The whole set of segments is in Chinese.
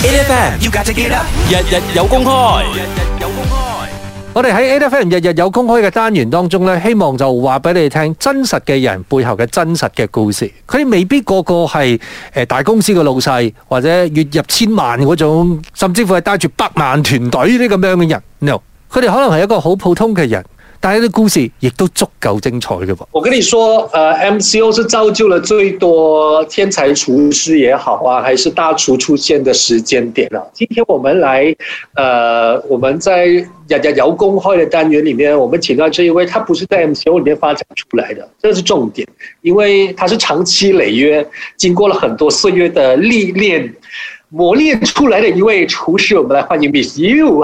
8FM you got to get up， 日日有公開。 我哋喺 8FM 日日有公開嘅單元當中咧，希望就話俾你哋聽真實嘅人背後嘅真實嘅故事。佢哋未必個個係大公司嘅老細，或者月入千萬嗰種，甚至乎係帶住百萬團隊呢咁樣嘅人。No， 佢哋可能係一個好普通嘅人。但係啲故事亦都足夠精彩嘅噃。 我跟你說MCO 是造就了最多天才廚師也好啊，還是大廚出現的時間點啊。今天我們來我們在日日有公開的單元裡面，我們請到這一位，他不是在 MCO 裡面發展出來的，這是重點，因為他是長期累月，經過了很多歲月的歷練磨練出來的一位廚師。我們來歡迎 Miss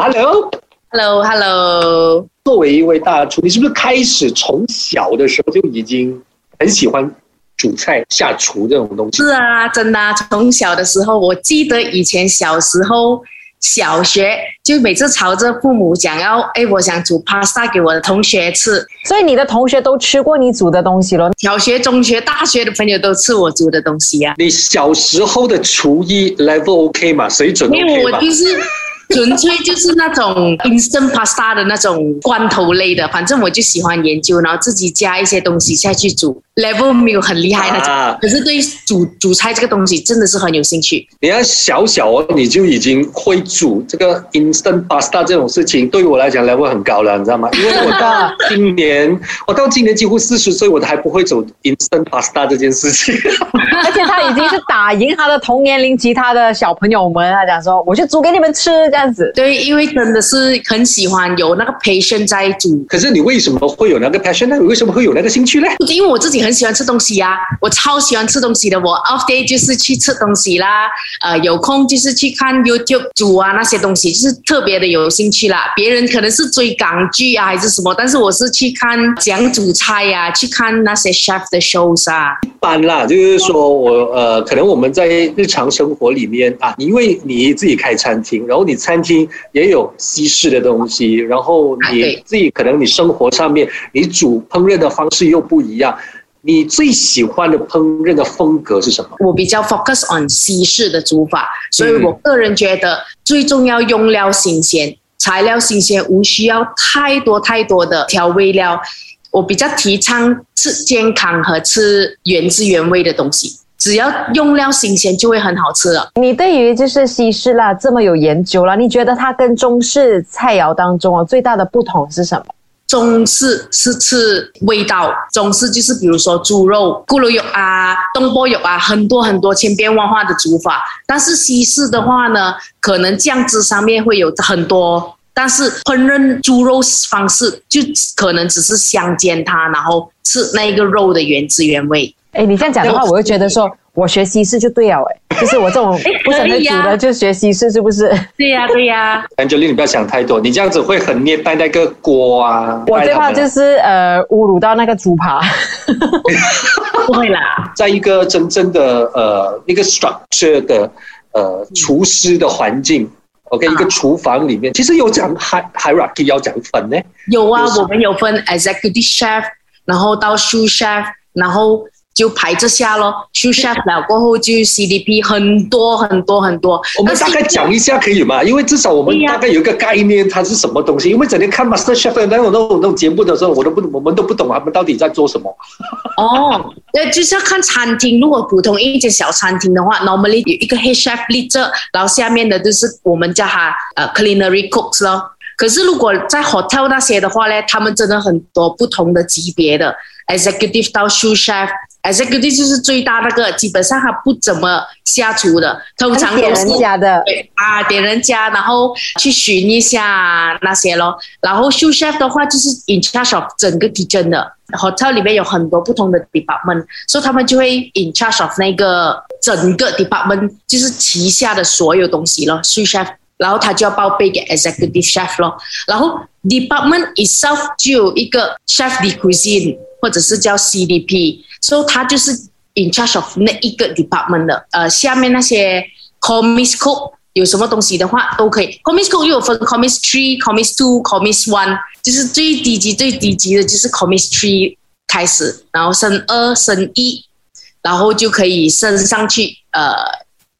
You。Hello。作為一位大廚，你是不是開始從小的時候就已經很喜歡煮菜、下廚這種東西？ 是啊，真的啊，從小的時候，我記得以前小時候小學就每次吵着父母講要，我想煮 pasta 給我的同學吃。 所以你的同學都吃過你煮的東西咯？ 小學、中學、大學的朋友都吃我煮的東西啊。 你小時候的廚藝 level OK 嗎？水準 OK 嗎？ 因為我就是純粹就是那種 instant pasta 的那種罐頭類的，反正我就喜歡研究，然後自己加一些東西下去煮 ，level 沒有很厲害那種，可是對煮菜這個東西真的是很有興趣。 你要小你就已經會煮這個 instant pasta 這種事情，對於我來講 level 很高了，你知道嗎？因為我到今年幾乎40歲，我都還不會做 instant pasta 這件事情。 而且他已經是打贏他的同年齡其他的小朋友們，他講說我就煮給你們吃這樣子。 對，因為真的是很喜歡有那個 passion 在煮。 可是你為什麼會有那個 passion 呢？你為什麼會有那個興趣呢？ 因為我自己很喜歡吃東西啊，我超喜歡吃東西的。我 off day 就是去吃東西啦，有空就是去看 YouTube 煮啊那些東西，就是特別的有興趣啦。別人可能是追港劇啊還是什麼，但是我是去看講煮菜啊，去看那些 chef 的 shows 啊。 一般啦，就是說可能我們在日常生活裡面啊，因為你自己開餐廳，然後你餐廳也有西式的東西，然後你自己可能你生活上面你煮烹飪的方式又不一樣，你最喜歡的烹飪的風格是什麼？ 我比較 focus on 西式的煮法，所以我個人覺得最重要用料新鮮，材料新鮮，無需要太多的調味料。我比較提倡吃健康和吃原汁原味的東西，只要用料新鮮就會很好吃了。 你對於就是西式啦這麼有研究啦，你覺得它跟中式菜肴當中最大的不同是什麼？ 中式是吃味道，中式就是比如說豬肉、咕嚕肉啊、東坡肉啊，很多千變萬化的煮法。但是西式的話呢，可能醬汁上面會有很多，但是烹飪豬肉方式就可能只是香煎它，然後吃那個肉的原汁原味。 你這樣講的話，我會覺得說我學西式就對了，就是我這種不是很會煮的就學西式，是不是？ 對呀。 Angeline，你不要想太多，你這樣子會很虐待那個鍋啊。 我最怕就是侮辱到那個豬扒。 不會啦， 在一個真正的一個 structure 的廚師的環境，OK，一個廚房裡面，其實有講 hierarchy 要講分呢？有啊， 我們有分 executive chef， 然後到 sous chef， 然後就排這下咯。sous chef 了過後就 CDP， 很多。 我們大概講一下可以嗎？因為至少我們大概有一個概念，它是什麼東西。因為整天看 Master Chef 的那種節目的時候，我們都不懂他們到底在做什麼。 就是要看餐廳。如果普通一間小餐廳的話 ，normally 有一個 head chef lead着，然後下面的就是我們叫他culinary cooks 咯。可是如果在 hotel 那些的話呢，他們真的很多不同的級別的 executive 到 sous chef。executive 就是最大那個，基本上他不怎麼下廚的，通常都是點人家的， 點人家，然後去巡一下那些咯。然後 sous chef 的話就是 in charge of 整個 kitchen 的 hotel 裡面有很多不同的 department， 所以他們就會 in charge of 那個整個 department， 就是旗下的所有東西咯 sous chef。然後他就要報備給 executive chef 咯，然後 department itself 就有一個 chef de cuisine 或者是叫 CDP， 所以他就是 in charge of 那一個 department 的。下面那些 commis cook 有什麼東西的話都可以。commis cook 又有分 commis 3、commis 2、commis 1， 就是最低級的就是 commis 3開始，然後升2、升1，然後就可以升上去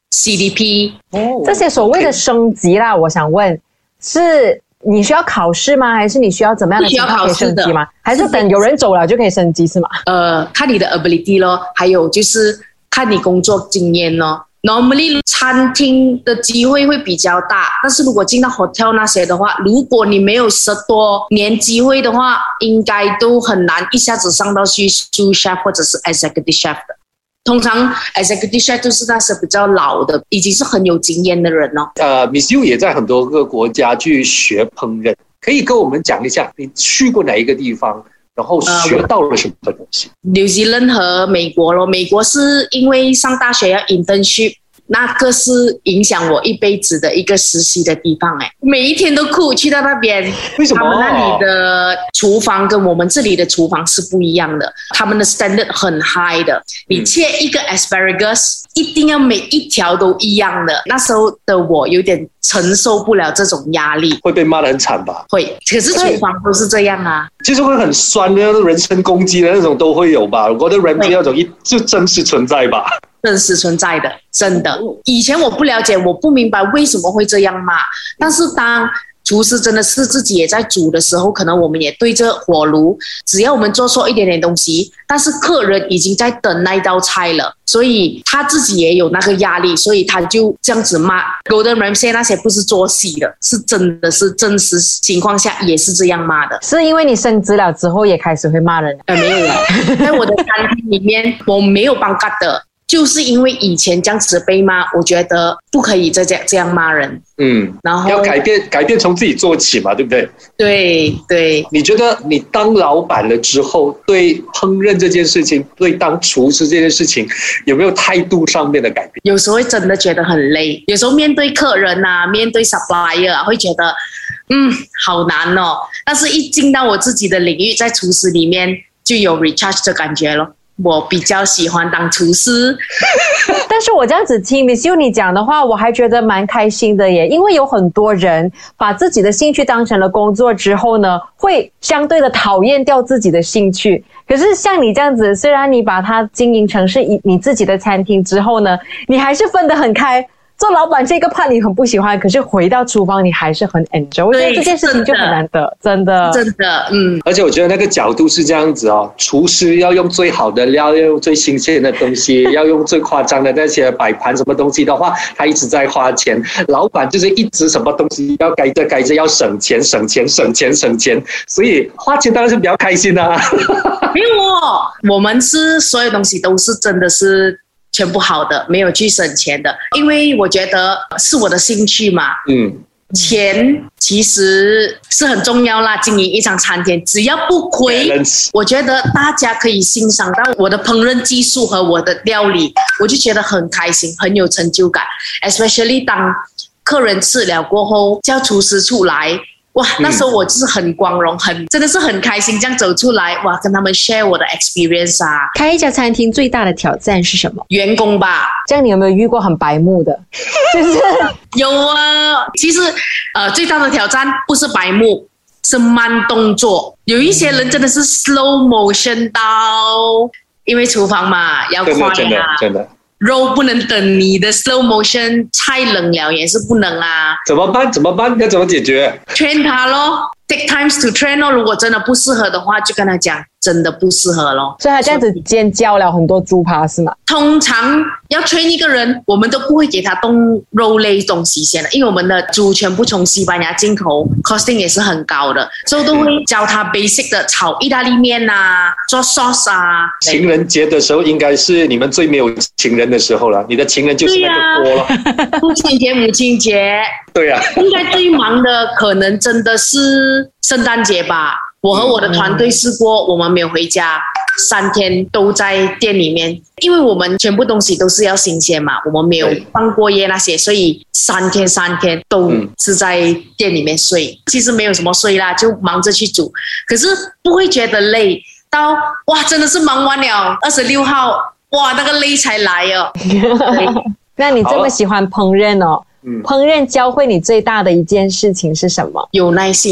CDP。 这些所谓的升级啦，我想问，是你需要考试吗？还是你需要怎么样的情况可以升级吗？还是等有人走了就可以升级是吗？ 看你的 ability 咯，还有就是看你工作经验咯。Normally 餐厅的机会会比较大，但是如果进到 hotel 那些的话，如果你没有10多年机会的话，应该都很难一下子上到去 sous chef 或者是 executive chef 的。通常 executive chef 就是那些比较老的，已经是很有经验的人哦。 Miss Yu 也在很多个国家去学烹饪，可以跟我们讲一下你去过哪一个地方，然后学到了什么东西 ？New Zealand 和美国咯，美国是因为上大学要 internship。那个是影响我一辈子的一个实习的地方每一天都哭去到那边。 为什么？ 他们那里的厨房跟我们这里的厨房是不一样的，他们的 standard 很 high 的。你切一个 asparagus 一定要每一条都一样的，那时候的我有点承受不了这种压力， 会被骂得很惨吧？ 会，可是厨房都是这样啊， 就是会很酸的人身攻击的那种都会有吧？我的人机那种就真实存在吧？ 真实存在的，真的。以前我不了解，我不明白为什么会这样骂，但是当厨师真的是自己也在煮的时候，可能我们也对着火炉，只要我们做错一点点东西，但是客人已经在等那一道菜了，所以他自己也有那个压力，所以他就这样子骂。Gordon Ramsay 那些不是做戏的，是真的是真实情况下也是这样骂的。 是因为你升职了之后也开始会骂人？ 没有了，在我的餐厅里面我没有帮干的。就是因为以前这样子被骂，我觉得不可以再这样骂人。然后要改变从自己做起嘛，对不对？ 对对。 你觉得你当老板了之后，对烹饪这件事情，对当厨师这件事情，有没有态度上面的改变？ 有时候会真的觉得很累，有时候面对客人啊，面对 supplier 啊，会觉得好难哦。但是一进到我自己的领域，在厨师里面就有 recharge 的感觉咯。我比较喜欢当厨师。 但是我这样子听 Miss Yu 你讲的话，我还觉得蛮开心的耶，因为有很多人把自己的兴趣当成了工作之后呢，会相对的讨厌掉自己的兴趣。可是像你这样子，虽然你把它经营成是你自己的餐厅之后呢，你还是分得很开。做老板这个怕你很不喜欢，可是回到厨房你还是很 enjoy。我觉得这件事情就很难得，真的。 而且我觉得那个角度是这样子哦，厨师要用最好的料，要用最新鲜的东西，要用最夸张的那些摆盘什么东西的话，他一直在花钱。老板就是一直什么东西要改着要省钱，所以花钱当然是比较开心啊。 没有我们是所有东西都是真的是全部好的，没有去省钱的，因为我觉得是我的兴趣嘛。钱其实是很重要啦，经营一场餐厅只要不亏，我觉得大家可以欣赏到我的烹饪技术和我的料理，我就觉得很开心，很有成就感。Especially 当客人吃了过后叫厨师出来，哇，那时候我就是很光荣，真的是很开心这样走出来，哇，跟他们 share 我的 experience 啊。 开一家餐厅最大的挑战是什么？ 员工吧。 这样你有没有遇过很白目的？就是有啊，其实最大的挑战不是白目，是慢动作。有一些人真的是 slow motion 到，因为厨房嘛要快啊， 真的。 肉不能等你的 slow motion， 菜冷了也是不能啊。 怎么办？要怎么解决？ train 他咯， take times to train 咯。如果真的不适合的话，就跟他讲真的不适合咯。 所以他这样子尖教了很多猪扒是吗？ 通常要 train 一个人，我们都不会给他动肉类东西先的，因为我们的猪全部从西班牙进口 ，costing 也是很高的，所以都会教他 basic 的炒意大利面啊，做 sauce 啊。 情人节的时候应该是你们最没有情人的时候了，你的情人就是那个锅了。 父亲节、母亲节， 对啊， 应该最忙的可能真的是圣诞节吧。我和我的团队试过，我们没有回家，3天都在店里面，因为我们全部东西都是要新鲜嘛，我们没有放过夜那些，所以3天都是在店里面睡。其实没有什么睡啦，就忙着去煮，可是不会觉得累到哇，真的是忙完了26号，哇，那个累才来哦。 那你这么喜欢烹饪哦，烹饪教会你最大的一件事情是什么？ 有耐性。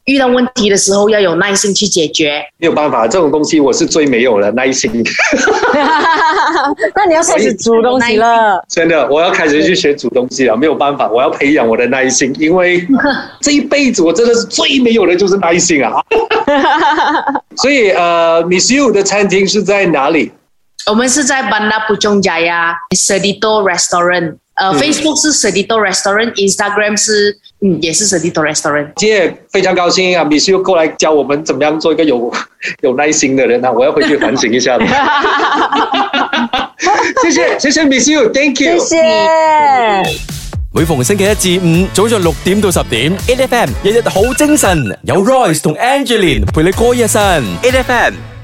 遇到问题的时候要有耐心去解决。 没有办法，这种东西我是最没有了耐心。 那你要开始煮东西了。 真的，我要开始去学煮东西了，没有办法，我要培养我的耐心，因为这一辈子我真的是最没有的就是耐心啊。所以Miss You 的餐厅是在哪里？ 我们是在 Bandar Puchong Jaya Sedito Restaurant。Facebook 是 Sedito Restaurant，Instagram 是也是 Sedito Restaurant。 今天也非常高兴啊 ，Miss You 过来教我们怎么样做一个有耐心的人啊，我要回去反省一下的。谢謝 Miss You，Thank you。 謝謝。 每逢星期一至五早上6點到10點 ，8FM 日日好精神，有 Royce 同 Angeline 陪你過一晨 ，8FM。